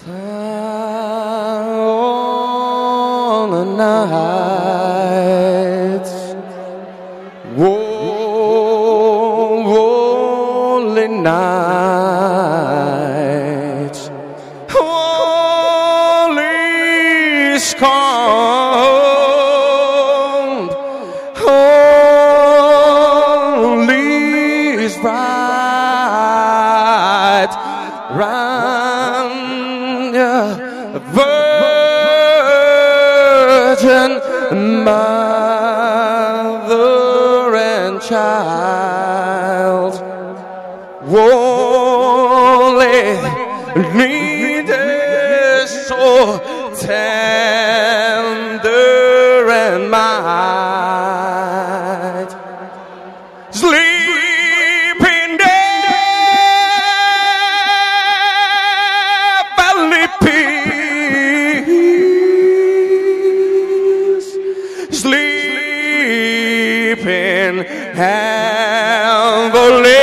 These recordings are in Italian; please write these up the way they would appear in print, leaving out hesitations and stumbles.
all the nights, lonely nights, only scorned, only is right, round virgin mother and child, only needed so tender and mild, sleeping there, valley peace, sleeping heavily.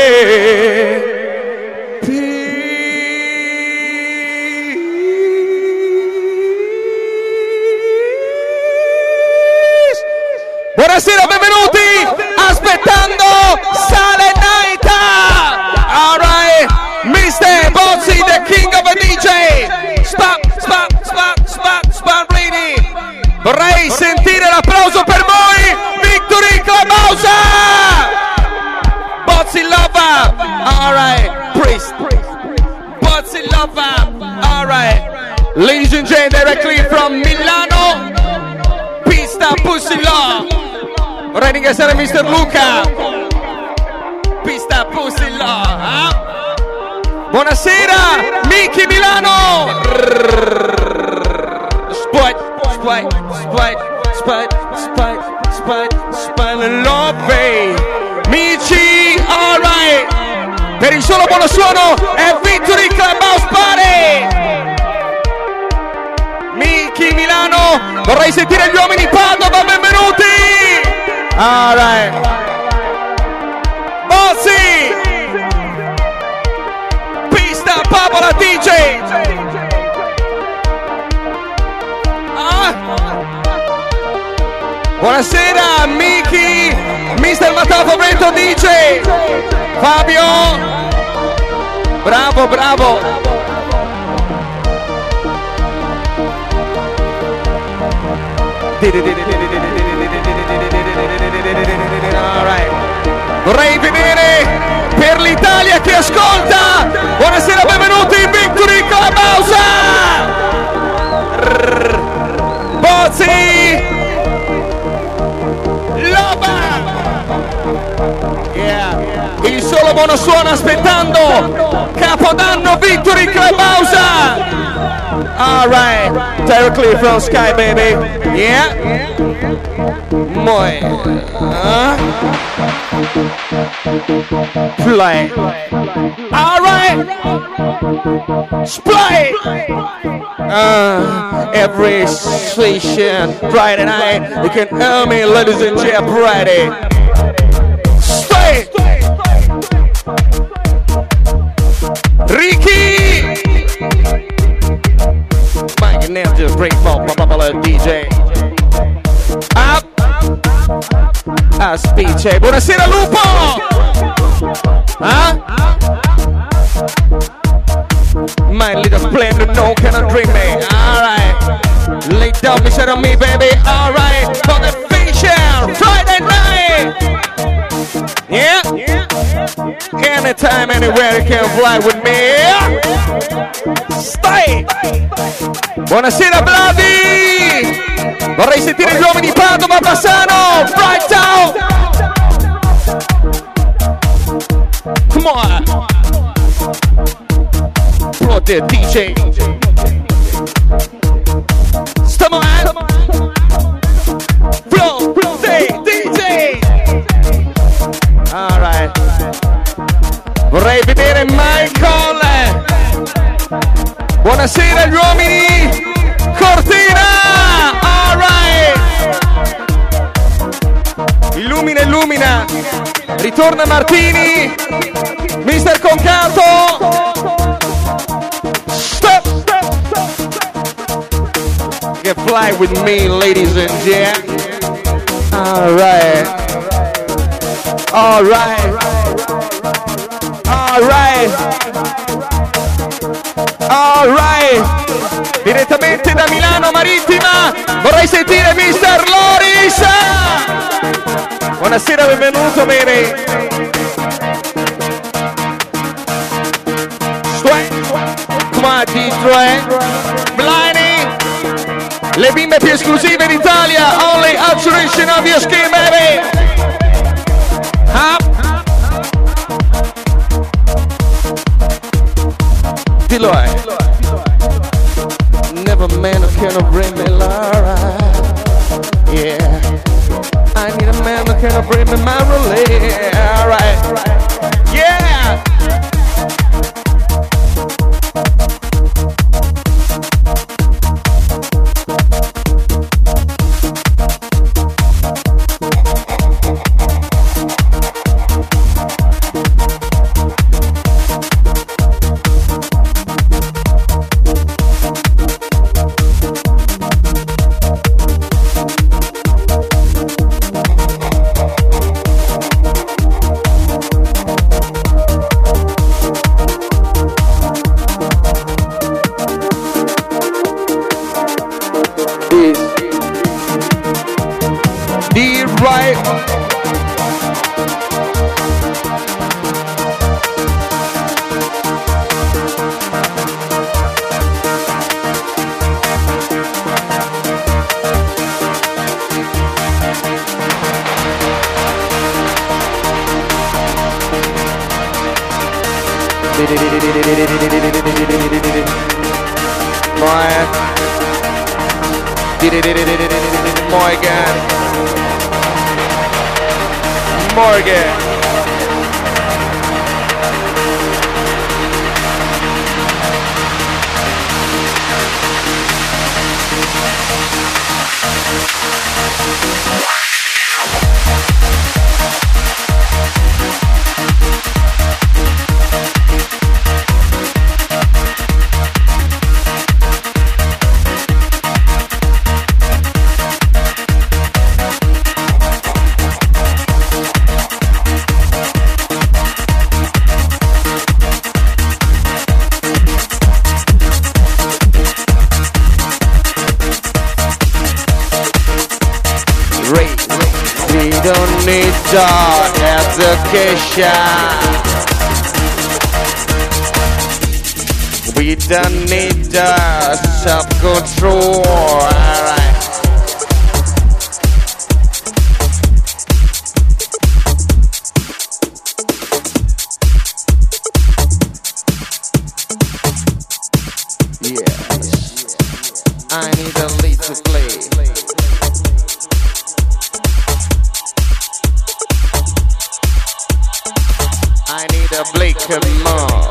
Buonasera, benvenuti, aspettando Sale Naita. Alright, Mr. Bozzi, the king of a DJ. Spot, ready. Vorrei sentire l'applauso per voi, Victory Clubhouse. Bozzi Lover, alright, Priest, Bozzi Lover, alright. Ladies and gentlemen, directly from Milano, Pista Pussy Law. Vorrei ringraziare Mr. Luca, Pista Pussy Law. Buonasera, Miki Milano. Spite, love, Mici, alright. Per il solo buono suono è Victory Clubhouse Party. Miki Milano, vorrei sentire gli uomini Padova, benvenuti. Alright, Bozzi, Pista Papola DJ. Buonasera Miki, Mr. Matafovento DJ. Fabio, bravo. Alright. Vorrei vedere per l'Italia che ascolta. Buonasera, benvenuti in Victory Clubhouse. Bozzi Loba. Yeah. Il solo buono suono aspettando Capodanno Victory Clubhouse. Alright, directly from Sky, baby. Yeah. Muy. Play. Alright. Play. Every station Friday night you can hear me, ladies and gentlemen. Friday. Stay. Ricky. Mike and Neil just break ball, DJ. Up. Aspice. Buonasera Lupo. My little splendor, no cannot drink me. Alright. Lay down beside of me, baby. Alright. For the fashion Friday night. Yeah. Anytime, anywhere you can fly with me. Stay. Buonasera Vladi. Vorrei sentire gli uomini di Padova, Bassano, Bright Town. Come on. Pro the DJ. Come on. Flow, say DJ. Alright. Vorrei vedere Michael. Buonasera gli uomini. Cortina. Alright. Illumina. Ritorna Martini. Mister Concato. Stop. fly with me, ladies and gentlemen. Alright. Alright. Alright. Alright. Direttamente da Milano Marittima vorrei sentire Mr. Loris. Buonasera, benvenuto, bene. Come on, D3. Blinding. Le bimbe più esclusive d'Italia. Only alteration of your skin, baby. Up. Deloy. Never man who can bring me Laura. Yeah. I need a man who can bring me my relief. Alright. Yeah. Morgan. Education. We don't need self-control. Alright. Yes. I need a lead to play. I need a Blake more.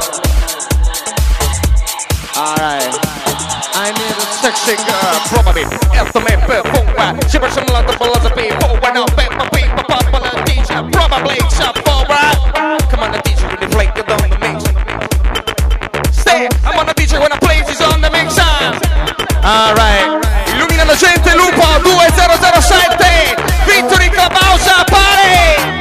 Alright. I need a sexy girl, probably. Estimate before. She was some lot of philosophy. For when I bet my people, popular teacher, probably shop for right. Come on, the teacher when you play it on the mix. Stay, I'm on the teacher when I play this on the mix. Alright. Illumina la gente, Lupo 2007. Victory Clubhouse Party.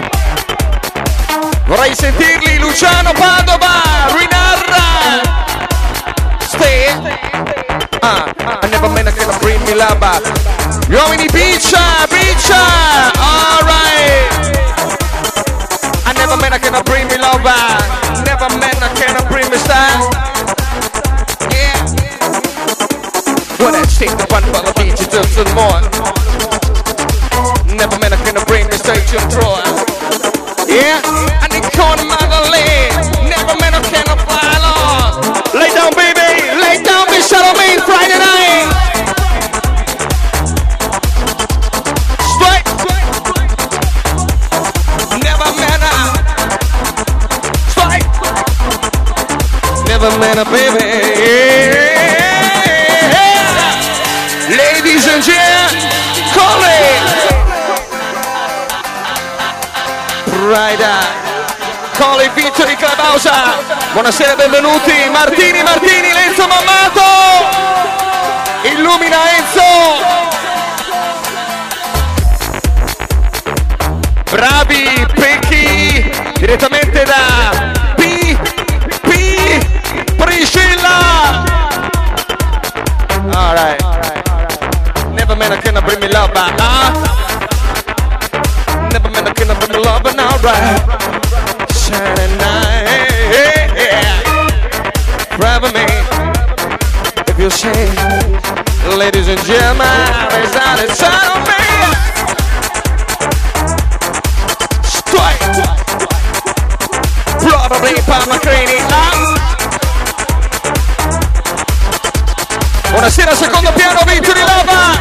Vorrei sentirli, Luciano Padova, Rinarra. Stay. I never meant I can bring me lava. Gli uomini Biccia, Biccia. Alright. I never meant I can bring me lava. Never meant I can bring me style. Yeah. When I take the one for the beach, it's just more. Never meant I can bring me stage control. Yeah, I need corner Magdalene. Never meant I cannot fly along. Lay down, baby. Lay down, be shut on me Friday night. Straight. Never meant I. Straight. Never meant I, baby. Yeah. Ladies and gentlemen, call it. Rider, Coli Victory Clubhouse. Buonasera, benvenuti. Martini, Lenzo Mammato. Illumina Enzo. alright. Shining night, grab me if you say, ladies and gentlemen, is that it's on me? Strike, probably Papa Crini up. Buonasera, secondo piano, Victory Lava.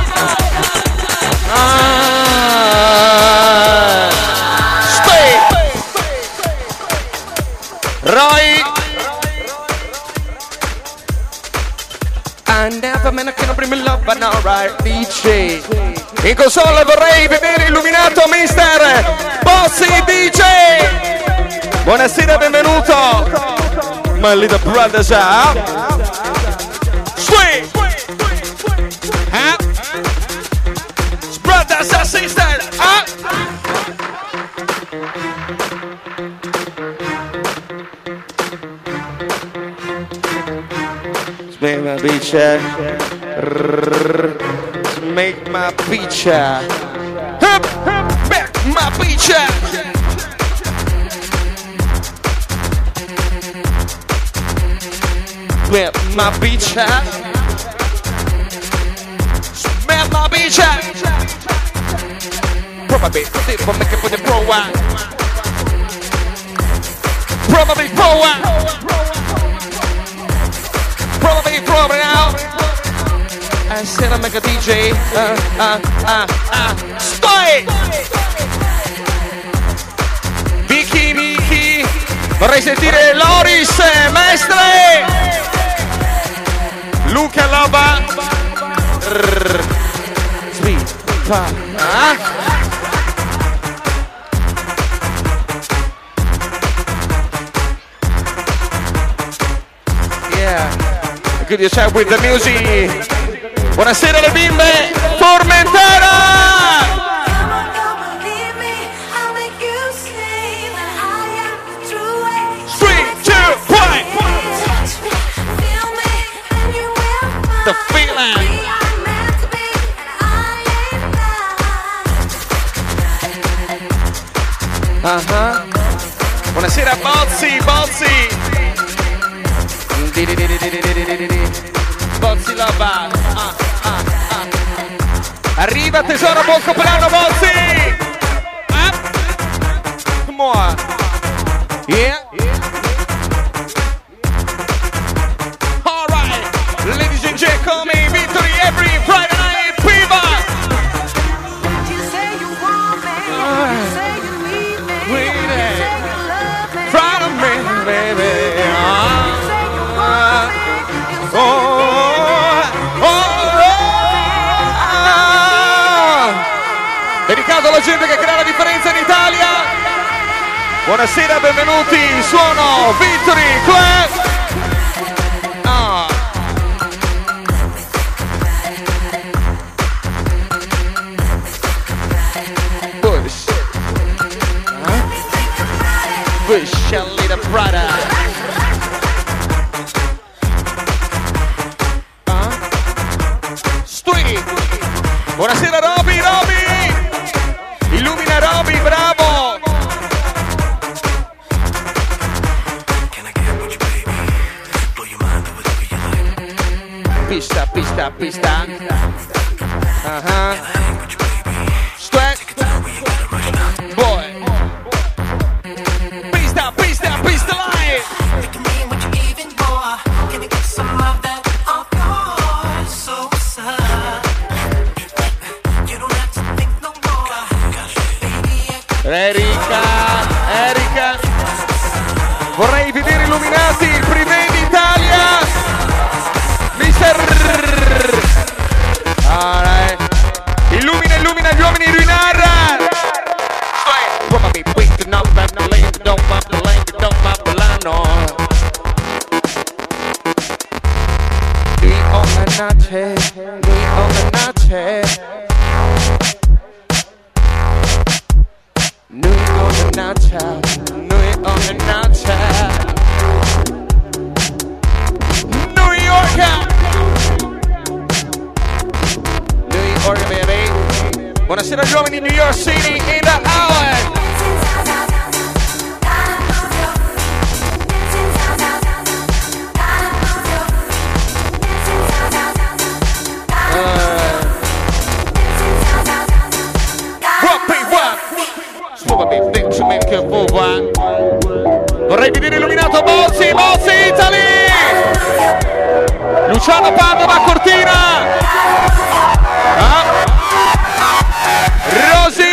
Stay. Roy. I never meant I can't bring me love, but now right, DJ. In console vorrei vedere illuminato Mister Bossy DJ. Buonasera, benvenuto. My little brothers up. Sweet. Huh? Brothers and sisters up. Make my picture. Make my picture. Make my picture. Make my picture. Make my picture. Probably for make it for the pro one. Probably pro one. Probably now. I said I make a DJ. Stoi! Vicky. Vorrei sentire Loris, maestre. Luca Loba. Sweet. Good yourself with the music. Buonasera le bimbe, Formentera. 3, 2, 1. The feeling. Buonasera Bozzi. Bozzi Lava. Arriva tesoro, buon compleanno Bozzi. Come on. Yeah. Alright. Ladies and gentlemen, Victory every Friday night fever. You say you want me. You say you need me. Wait You say you love me. Proud of me, baby. Dedicato alla gente che crea la differenza in Italia. Buonasera, benvenuti. Suono Victory Club. Bush, a little brother. Buonasera Roby. Illumina Roby, bravo. Pista. Sweat. Boy. Pista live. Erika, vorrei vedere illuminati il Privé d'Italia, Mister. Alright. Illumina gli uomini di Rinara. Buonasera giovani, New York City in the hour. Milano, Padova, Cortina. Rosy.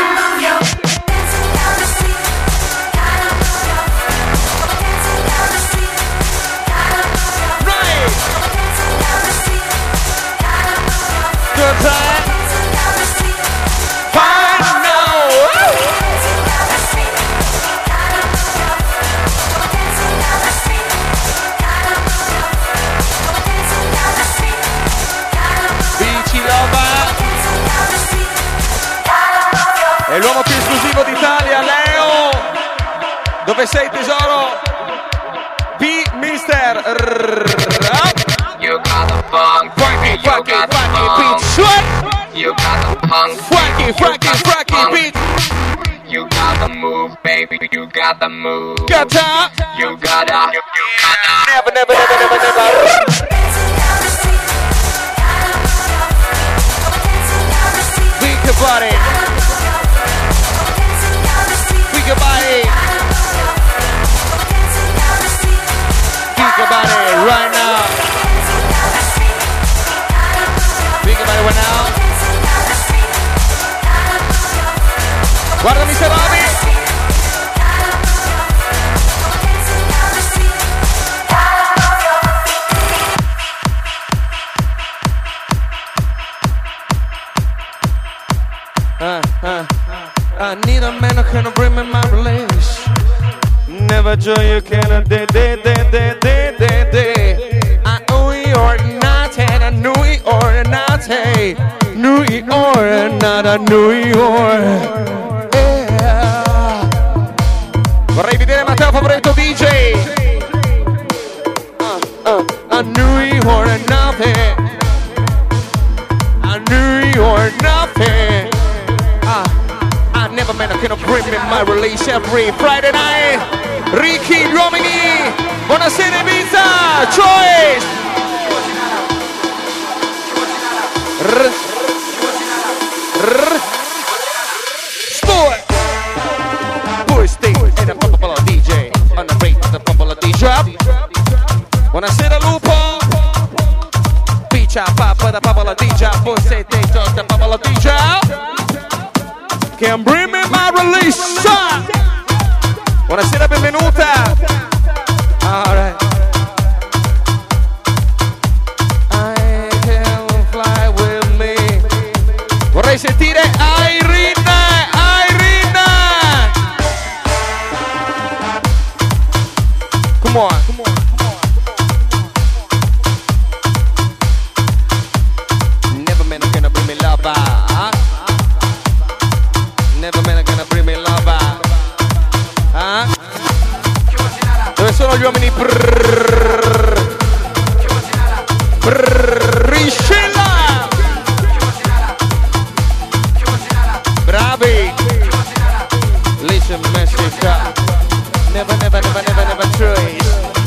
Right. Good time. Fine now. Bici Loba. È l'uomo più esclusivo d'Italia, Leo. Dove sei, tesoro? Mister. You got the funk, Frankie, got the beat. funk. Sweat. You got the punk, Frankie, beat. You got the move, baby. You got the move. Gata. You gotta. Never. Weak your body. Weak your body. Weak your body right now. Weak your body right now. Guardami se Roby. I need a man who can bring me my release. Never joy you cannot de. I owe you or nothing, I knew it or nothing. Knew it or not, I knew it or. Yeah. Vorrei vedere Matteo Favoretto DJ. I knew it or nothing. I knew it or nothing. I never meant I cannot bring me my release every Friday night. Ricky, gli uomini, buonasera Ibiza, Choice. Sport. Boy State and the Pumpola DJ. On the break the Pumpola DJ. Buonasera Lupo. Piccia Papa da Pumpola DJ. Boy State the Pumpola DJ. Can bring me my release. Buonasera, benvenuta. Alright. I can fly with me. Vorrei sentire Irina. Come on. Never meant I'm gonna bring me love. Never meant I'm gonna bring me love. Dove sono gli uomini? Riscilla! Bravi! Listen, Messica. Never trace.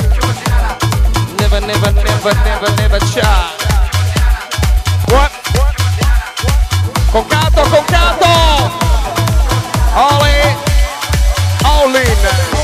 Never try. What? Con canto! All in.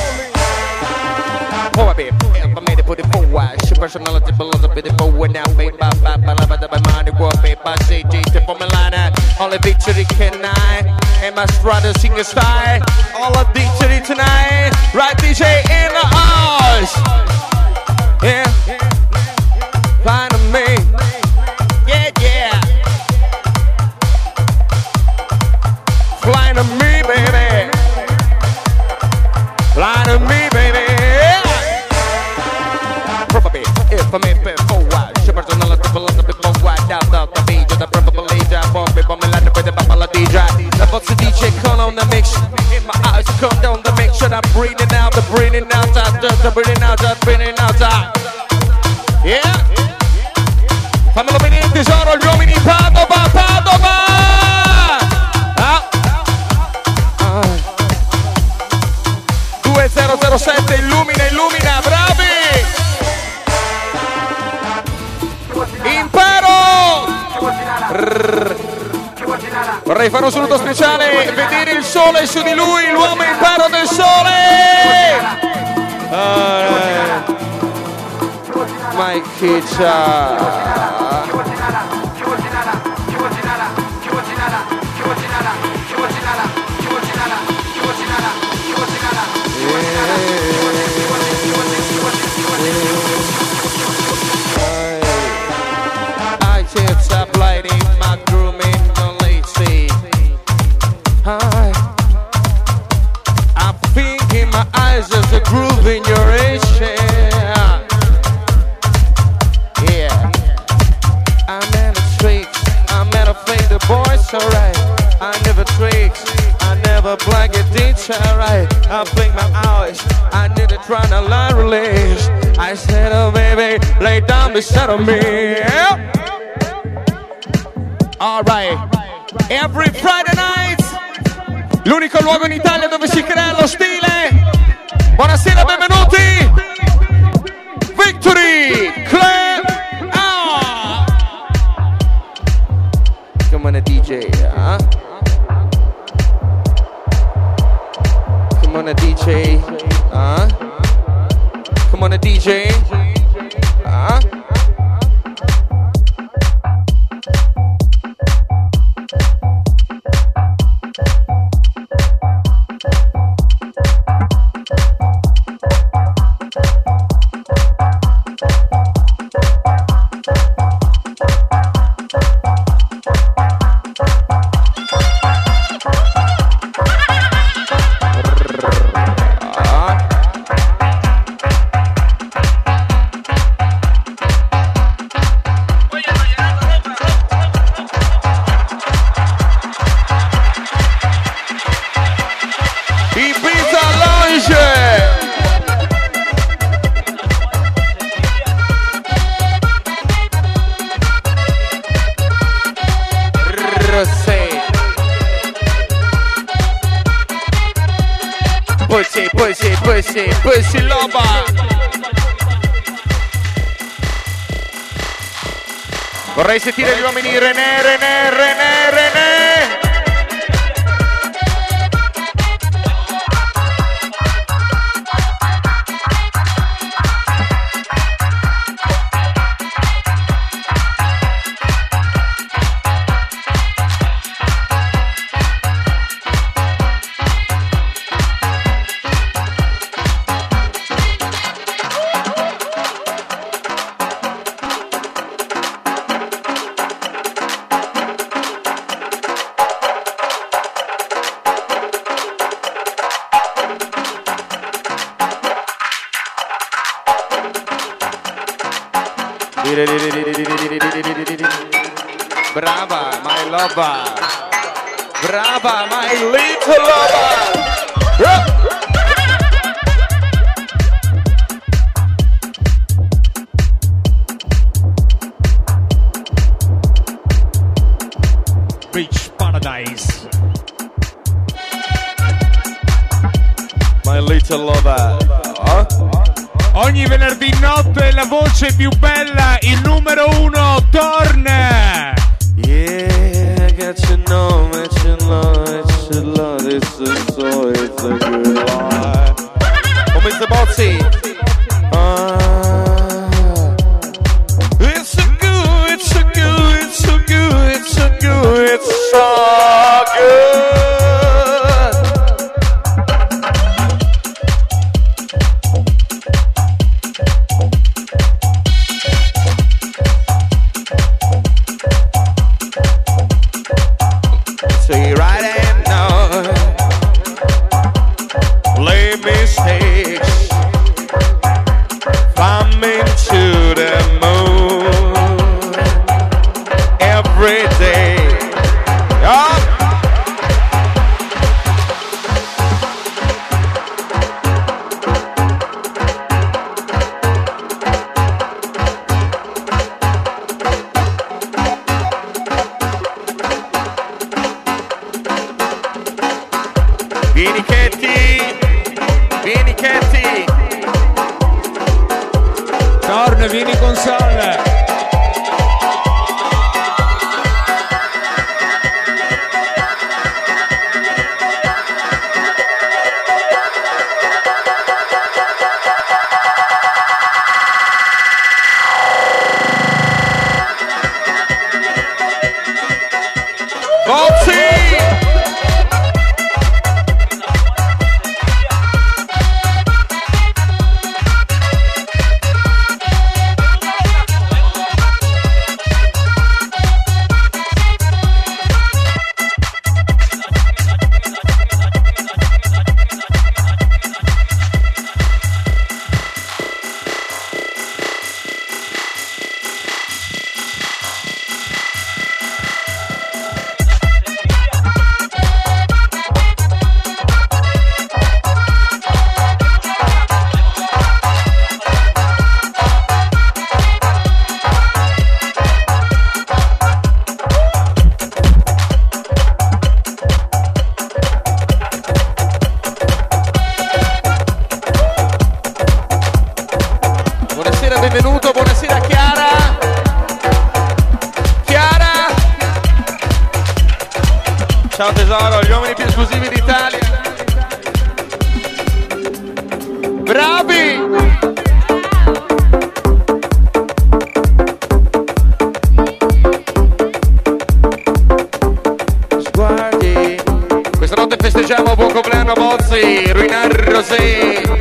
Oh, I made it put it forward. She personality belongs up in the forward now. Made by money, world made by CG to Formulana. Only victory can I. And my strata singer style. All of victory tonight. Right, DJ in the house. Yeah. Find me. Yeah. Flying to me, baby. Fly to me, baby. Probably if I'm in forward, she personality belongs to people wide down the beach. The purple leader, bomb me like the Papa DJ. The box DJ call on the mix. In my eyes, come down the mix. Shut up, breathing out, the breathing out, the breathing out, the breathing out. Yeah. Fammelo venire tesoro, gli uomini Padova. 2007 illumina, bravi! Imparo! Vorrei fare un saluto speciale, vedere il sole su di lui, l'uomo imparo del sole! my kitchen. I can't stop lighting my grooming the lazy. I'm thinking my eyes there's a groove in your action. Yeah, I'm in the streets, I'm in a fake, the boys alright. I never tricks, I never blank it, it's alright. I blink my eyes, I need to try to line release. I said, oh baby, lay down beside of me. Yeah. Alright, every Friday night, l'unico luogo in Italia dove si crea lo stile. Buonasera, benvenuti. Victory Club. Ah. Come on a DJ, huh? Come on a DJ, huh? Come on a DJ, huh? Pussy loba. Vorrei sentire gli uomini René. Brava, my lover. Brava, my little lover. Beach Paradise. My little lover. Ogni venerdì notte la voce più bella, il numero 1 torna. Yeah, I got your number, it's your love, it's a soul, it's a good life. Oh, Mr. Bozzi. It's so good, it's so good, it's so good, it's so good, it's so good. Ciao tesoro, gli uomini più esclusivi d'Italia. Bravi! Sguardi. Questa notte festeggiamo buon compleanno Bozzi, Ruinar Rosé.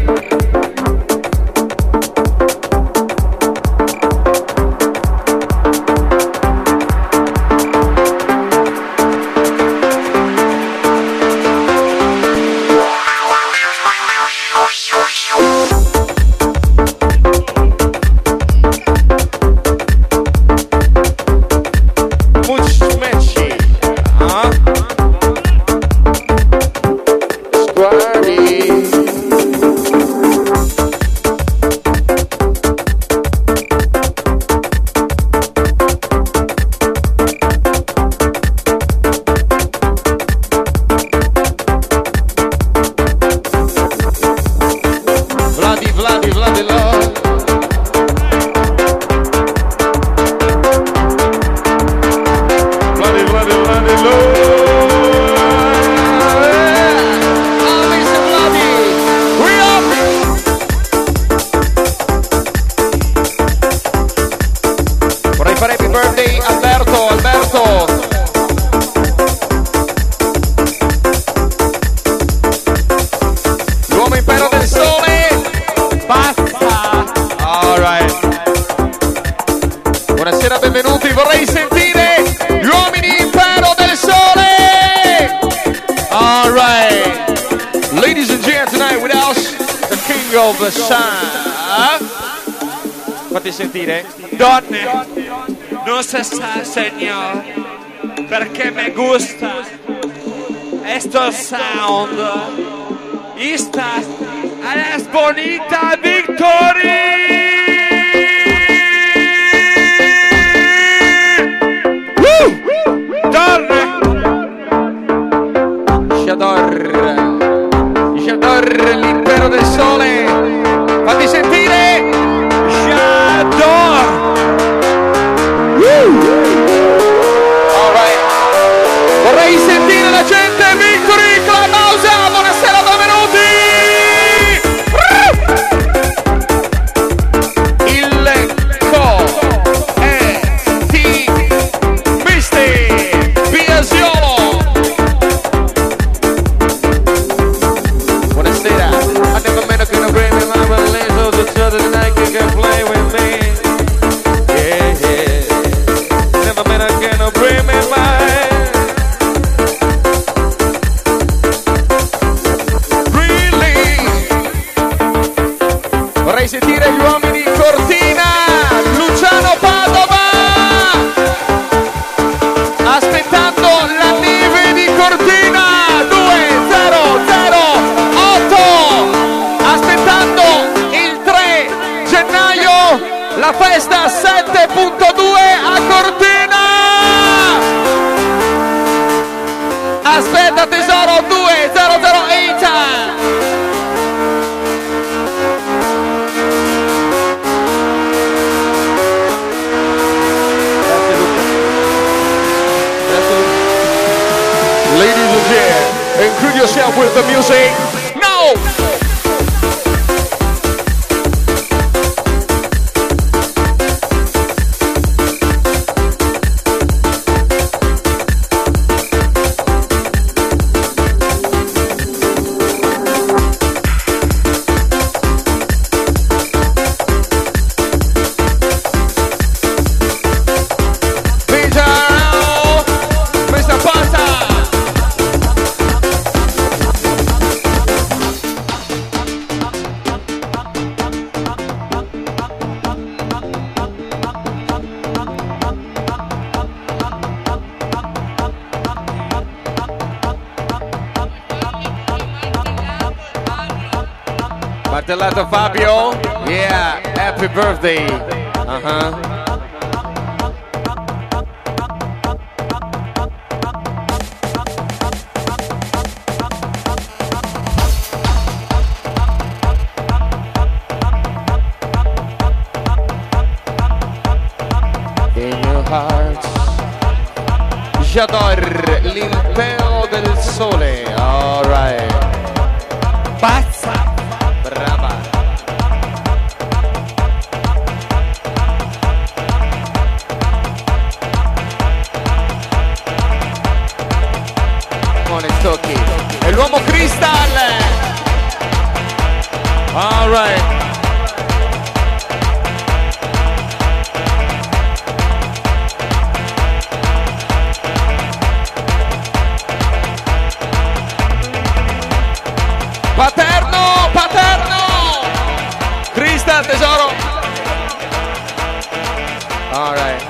Fatti sentire. Donne, non se sa, señor, perché me gusta esto sound. Esta a las bonita Victory. Donne. J'adore l'impero del sole. Fatti sentire. Alright. Vorrei sentire la gente. Victory Clubhouse. Buonasera, benvenuti. Il Misti Biasiolo. Buonasera. I never met a kind of brain in my mind, so the other night you can play with me. Vorrei sentire gli uomini Cortina, Luciano Padova, aspettando la neve di Cortina, 2008, aspettando il 3 gennaio, la festa 7.2 a Cortina. Aspetta tesoro, 2008. Ladies and gentlemen, include yourself with the music. No! Martellato Fabio, yeah, happy birthday. In your hearts, J'adore, l'impero del sole. Alright. Pazza. Brava. Come tocchi. È l'uomo Crystal. Alright. Paterno, paterno! Crystal, tesoro! Alright.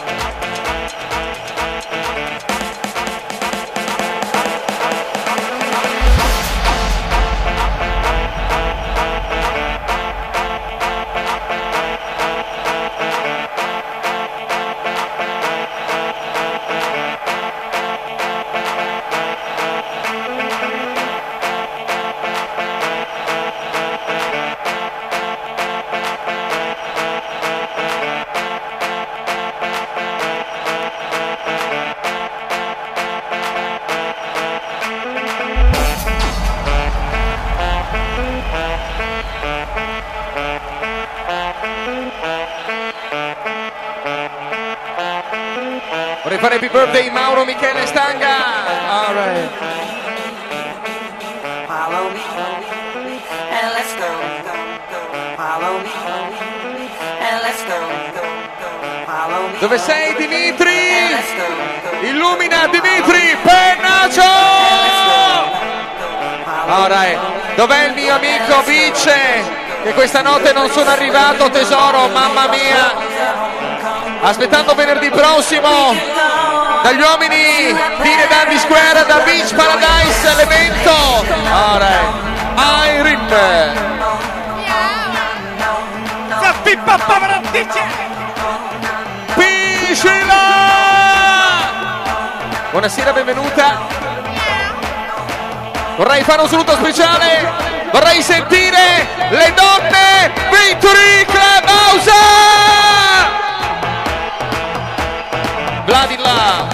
Vorrei fare happy birthday Mauro Michele Stanga. All right. Follow me, and let's go. Follow me, and let's go. Follow me. Dove sei Dimitri? And let's go. Illumina Dimitri, Pennaccio! All right. Dov'è il mio amico Vice? Che questa notte non sono arrivato, tesoro, mamma mia. Aspettando venerdì prossimo dagli uomini di Dandy Square da Beach Paradise l'evento. Alright. Irene. Piscina. Buonasera, benvenuta. Vorrei fare un saluto speciale. Vorrei sentire le donne Victory Club House. Vladila.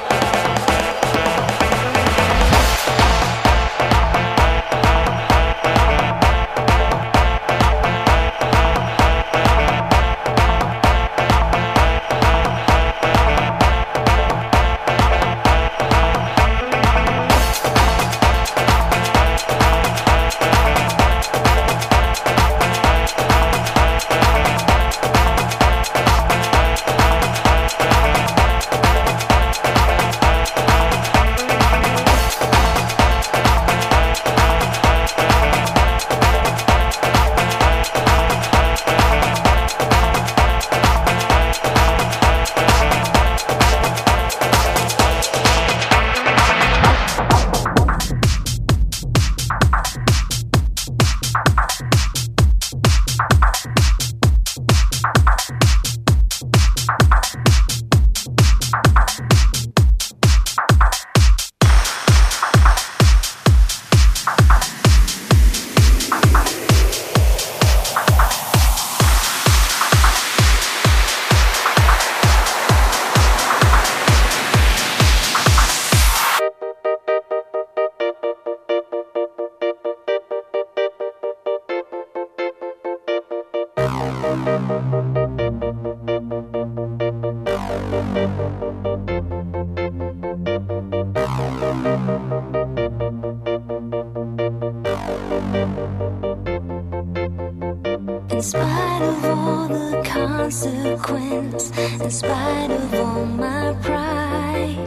In spite of all the consequence, in spite of all my pride,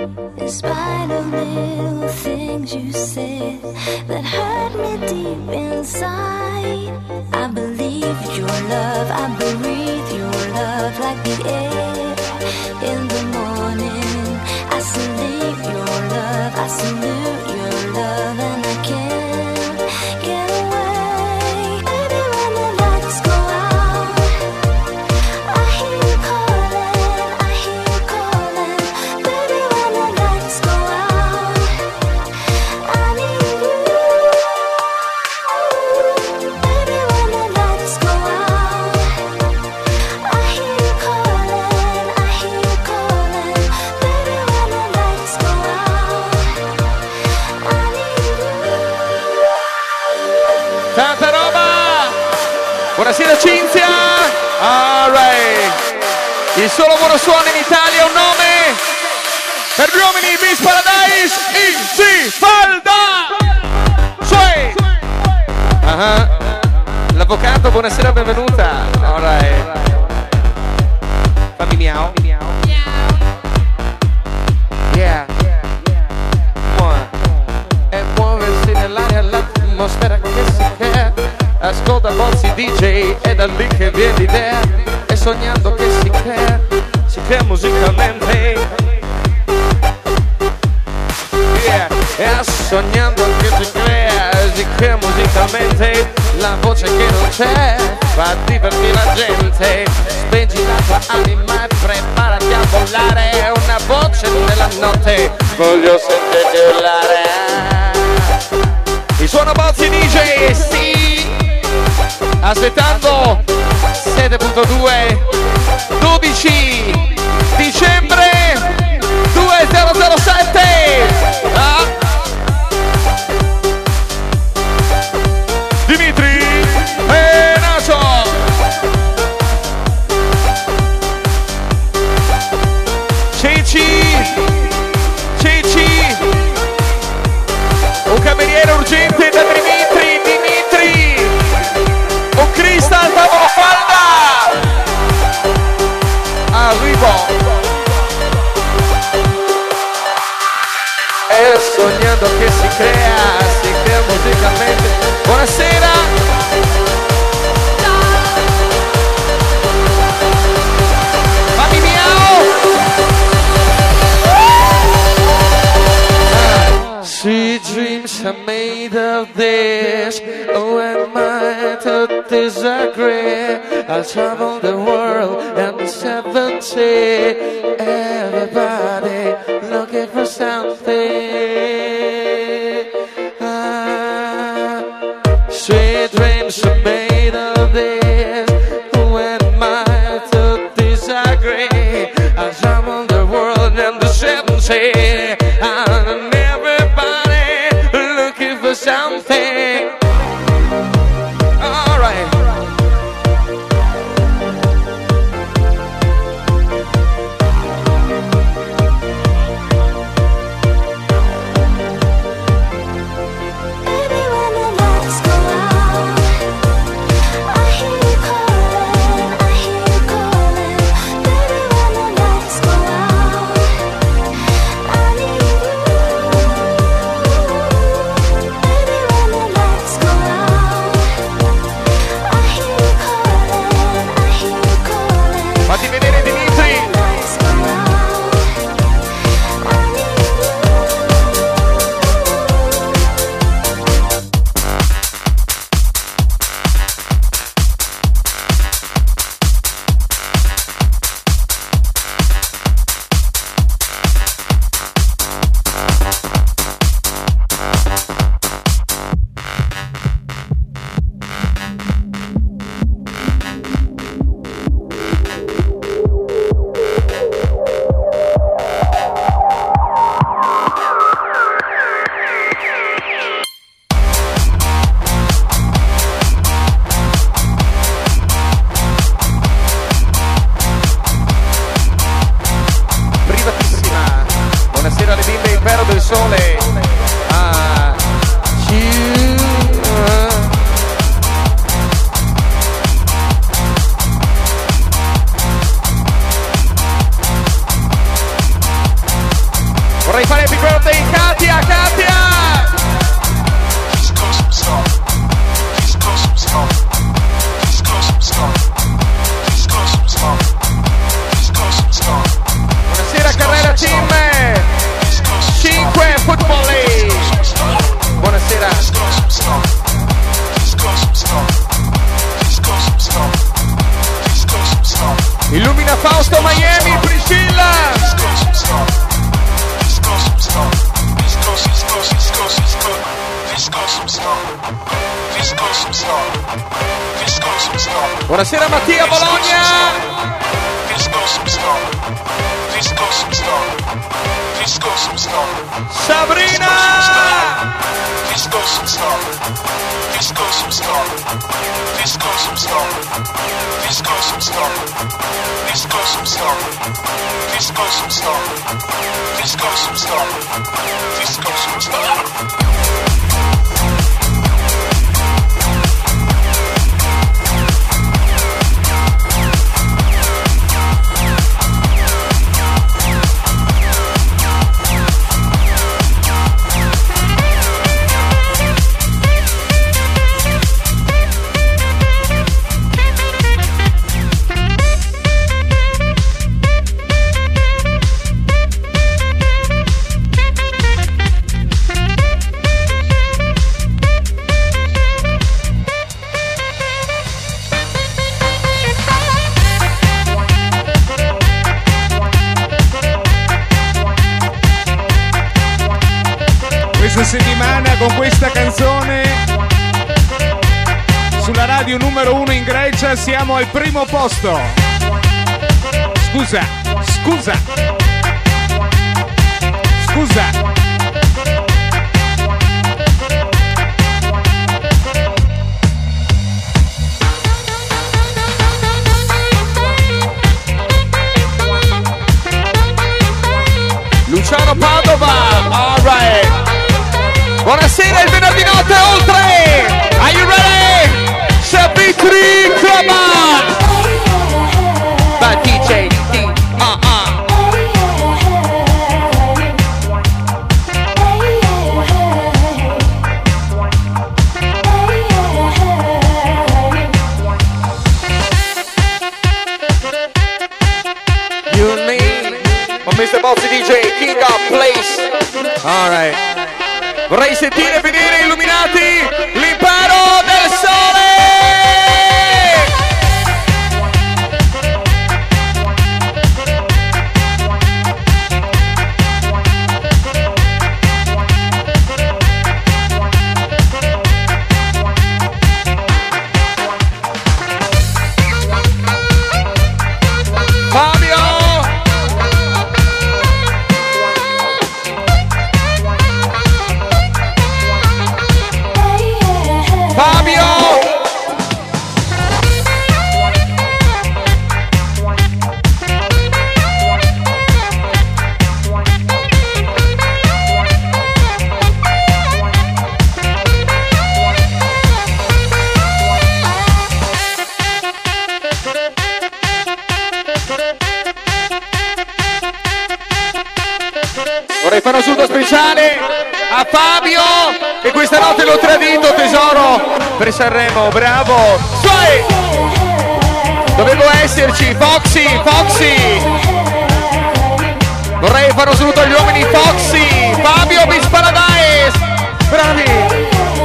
in spite of little things you said that hurt me deep inside, I believe your love, I breathe your love like the air in the morning. I salute your love, I salute your love, and I can't get away. Baby, when the lights go out, I hear you calling, I hear you calling. Baby, when the lights go out, I need you. Baby, when the lights go out, I hear you calling, I hear you calling. Il solo buono suono in Italia, un nome per gli uomini Beach Paradise, Easy Falda. Suoi. L'avvocato, buonasera, benvenuta. Alright. Fammi miau. Yeah. E muoversi nell'aria, l'atmosfera che si crea. Ascolta Bozzi DJ, è da lì che viene l'idea. E sognando che si crea musicalmente. Yeah. E sognando che si crea musicalmente. La voce che non c'è fa divertire la gente. Speggi la tua anima e preparati a volare. Una voce nella notte, voglio sentirti urlare. Il suono Bozzi DJ, sì. Aspettando 7.2 12 dicembre 2007. Dimitri e Naso. Ceci, un cameriere urgente da Dimitri, un Crystal tavolo falda, arrivo. E sognando che si crea musicalmente. Buonasera. Fammi miau. Sweet dreams are made of this. Oh, am I to disagree? I'll travel the world and the 70. Everybody looking for something. Sweet dreams are made of this. Who am I to disagree? I'll travel the world and the 70. And everybody looking for something. All right. Buonasera Mattia Bologna. Sabrina. Settimana con questa canzone sulla radio numero 1 in Grecia siamo al primo posto. Scusa. Luciano Padova, alright. Buonasera, il venerdì notte oltre! Are you ready? Sabitri, come on! By DJ D, You and me, or Mr. Bossy DJ, King of Place. Alright. Vorrei sentire vedere illuminati l'impero del sole! Fabio! Vorrei fare un saluto speciale a Fabio che questa notte l'ho tradito, tesoro, per Sanremo, bravo. Suoi! Dovevo esserci, Foxy. Vorrei fare un saluto agli uomini Foxy, Fabio Beach Paradise. Bravi.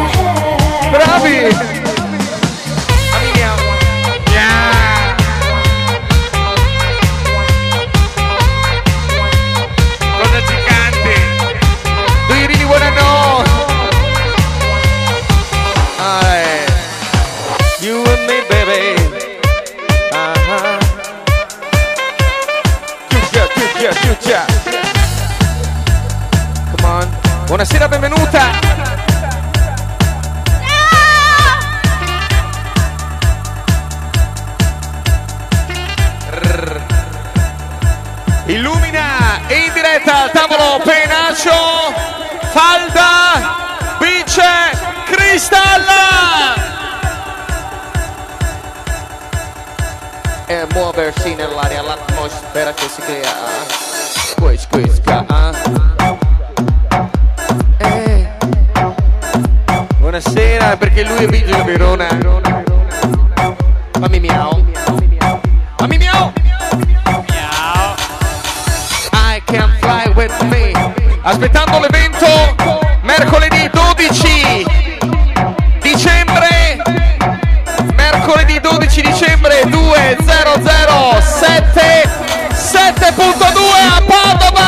Come on. Buonasera, benvenuta. Illumina in diretta al tavolo Penaccio, Falda, vince Cristalla. E muoversi nell'aria, l'atmosfera che si crea. Buonasera, perché lui è Vigile Verona. Mammi miau. I can fly with me. Aspettando l'evento mercoledì 12 dicembre. Mercoledì 12 dicembre 2007.2 a Padova.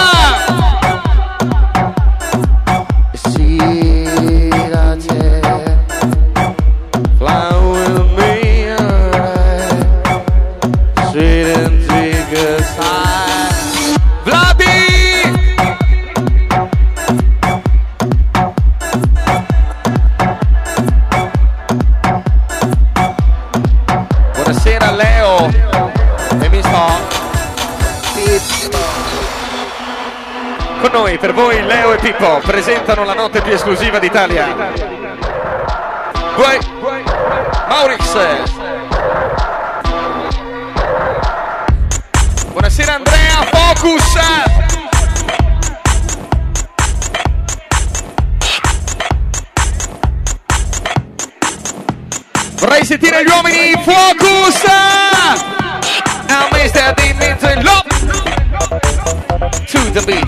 Con noi, per voi, Leo e Pippo presentano la notte più esclusiva d'Italia. Maurix. Buonasera Andrea, Focus. Vorrei sentire gli uomini, Focus. A Mr. Dimitri Lop. To the beach.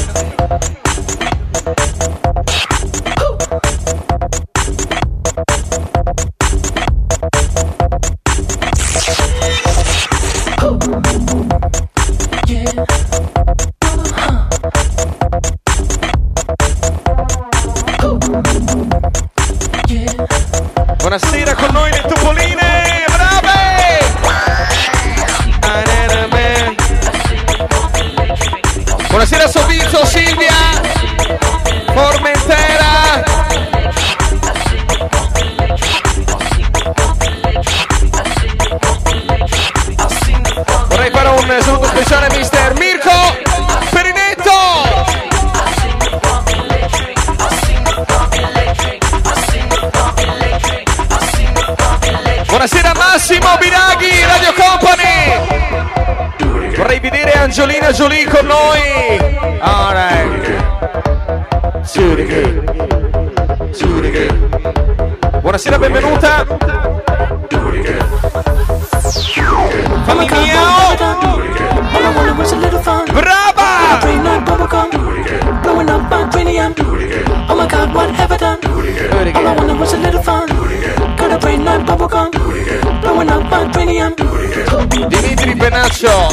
Buonasera con noi le Topoline, brave! Buonasera Sovizio, Silvia, Formentera. Vorrei fare un saluto speciale a Mister Mirko Perinetto. Buonasera Massimo Biraghi, Radio Company. Vorrei vedere Angelina Jolie con noi. Alright. Buonasera, benvenuta. Fammi miau. Brava. Oh my God, what have I done? All I wanted was a little fun. Got a brain like bubblegum. Blowing up my cranium. Dimitri Benaccio.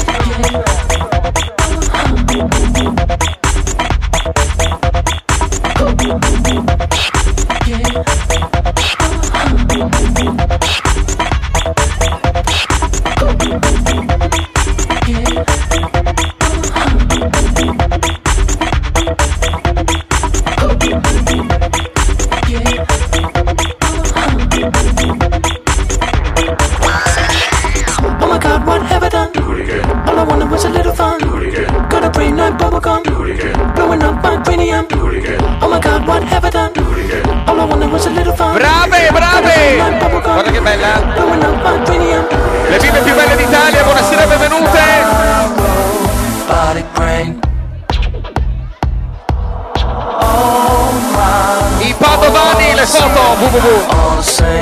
Brave, brave! Guarda che bella! Le bimbe più belle d'Italia, buonasera, benvenute! I padovani, le foto, www.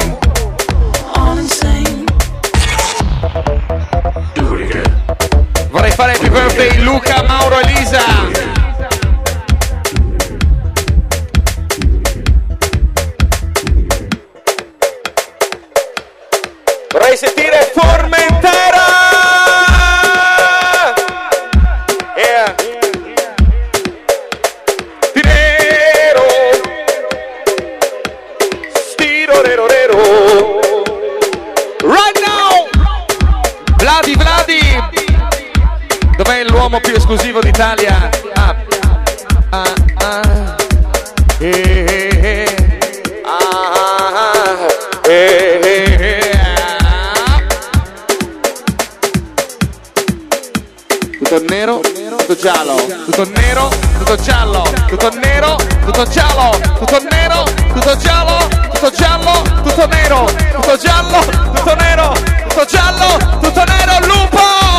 Vorrei fare happy birthday Luca, Mauro, Elisa. Vorrei sentire Formentera! Yeah! Tirero! Stirorero! Right now! Vladi! Dov'è l'uomo più esclusivo d'Italia? Tutto nero, tutto giallo, tutto nero, tutto giallo, tutto nero, tutto giallo, tutto nero, tutto giallo, tutto giallo, tutto nero, tutto giallo, tutto nero, tutto giallo, tutto nero, lupo!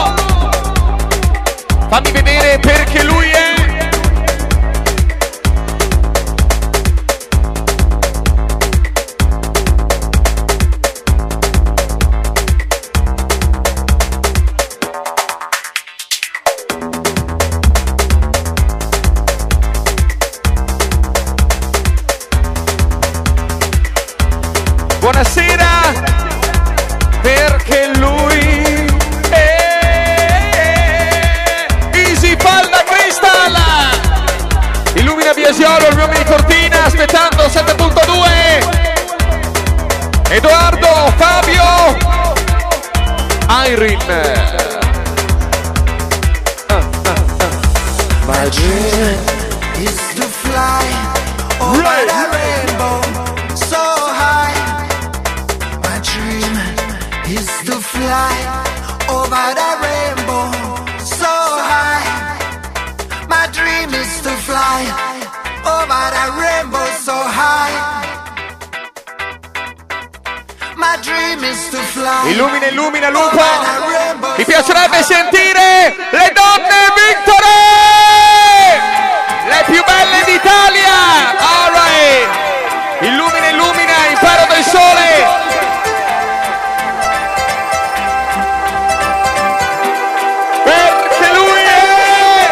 Fammi vedere perché lui è. Buonasera, perché lui è Easy Palla Crystal. Illumina Biasiolo, il mio mini Cortina, aspettando 7.2. Edoardo, Fabio, Irene. My dream is to fly over that rainbow so high. My dream is to fly over that rainbow so high. My dream is to Illumina, illumina, Lupo. Mi piacerebbe sentire le donne Victory, le più belle d'Italia. All right. Illumina, illumina, impero del sole. Perché lui è...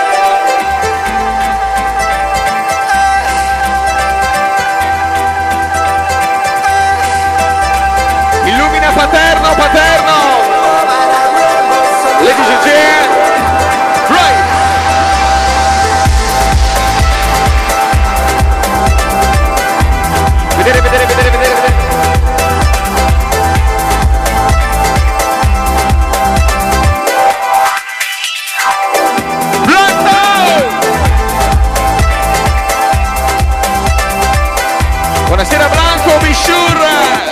Illumina Paterno, Paterno. Ladies and gentlemen, right. Vedere, vedere, vedere, vedere, vedere. Blanco! Buonasera Blanco, be sure.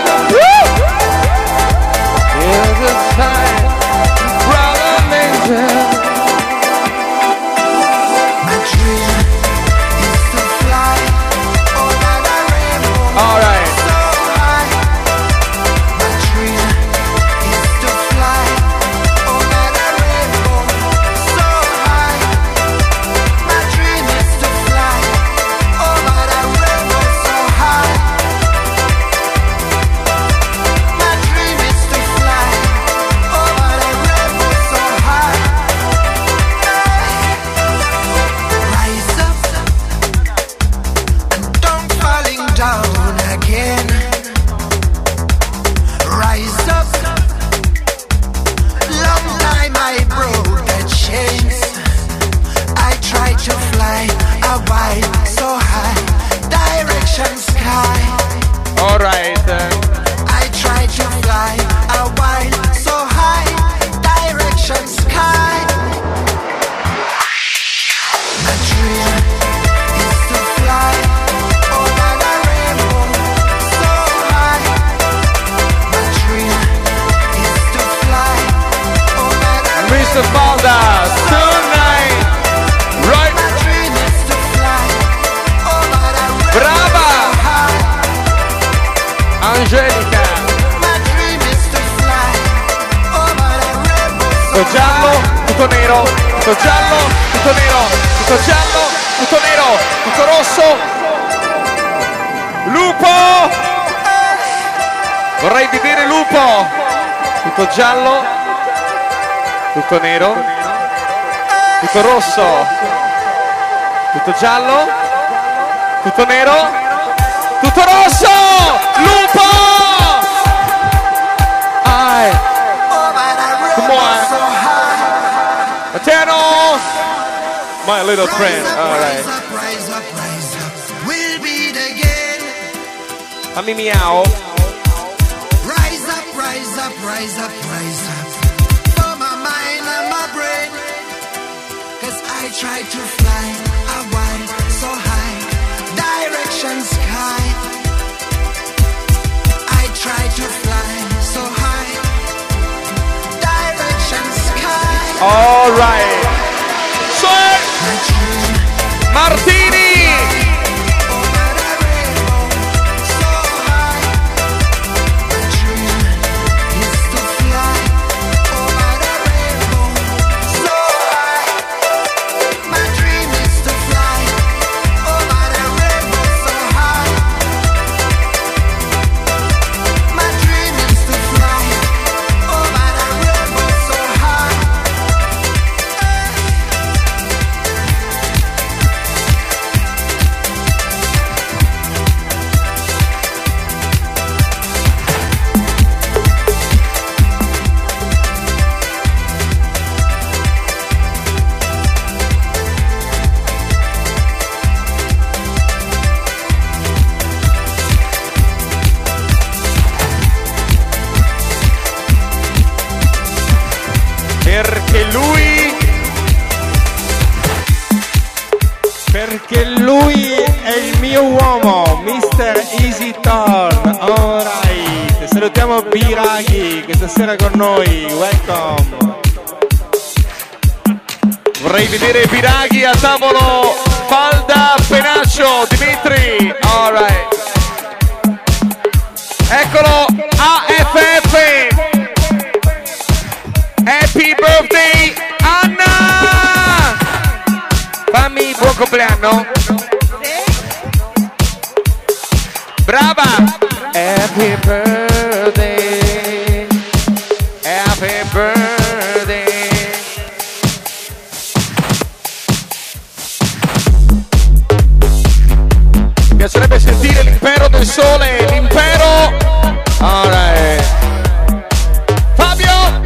Giallo, tutto nero, tutto rosso, tutto giallo, tutto nero, tutto rosso, Lupo! Come on! Materno! My little friend, alright. Fammi miau. Rise up, for my mind and my brain. 'Cause I try to fly, I want so high, direction sky. I try to fly so high, direction sky. All right. Martini. Perché lui è il mio uomo, Mr. Easy Torn. Alright, salutiamo Biraghi questa sera con noi, welcome. Vorrei vedere Biraghi a tavolo, Falda, Penaccio, Dimitri. Alright. Eccolo, AFF. Happy birthday, Anna. Fammi buon compleanno. Brava. Happy birthday. Happy birthday. Mi piacerebbe sentire l'impero del sole, l'impero. Alright. Fabio.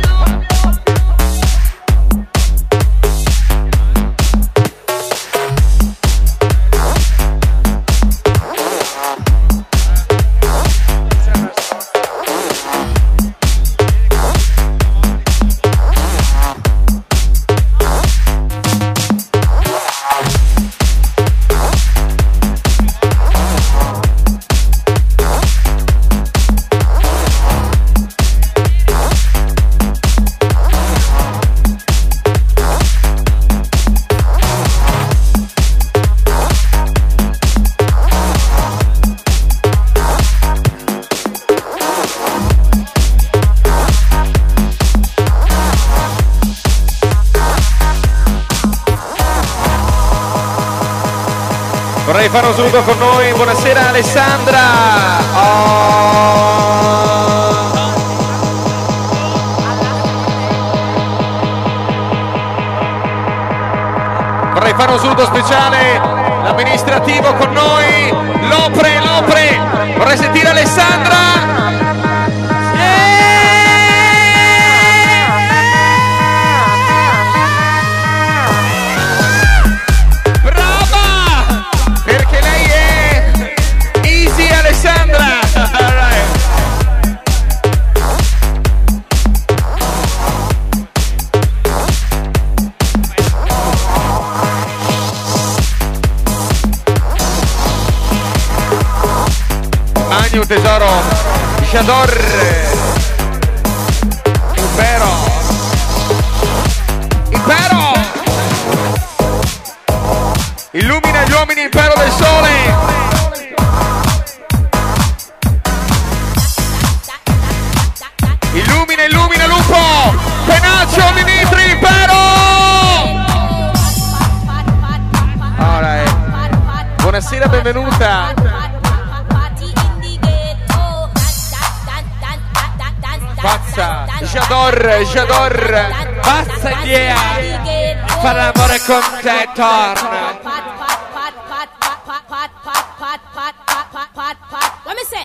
Vorrei fare un saluto con noi, buonasera Alessandra. Vorrei fare un saluto speciale, l'amministrativo con noi, Lopre. Vorrei sentire Alessandra. Un tesoro, Jador, impero, illumina gli uomini, impero del sole, illumina lupo, Penaccio, Dimitri, impero. Alright. Buonasera, benvenuta. Pazza, Jador, pazza idea, fare l'amore con te, torna.